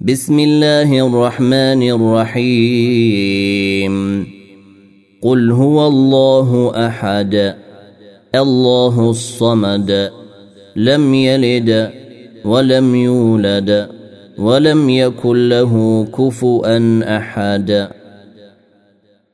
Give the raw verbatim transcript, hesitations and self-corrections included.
بسم الله الرحمن الرحيم قل هو الله احد الله الصمد لم يلد ولم يولد ولم يكن له كفؤا احد.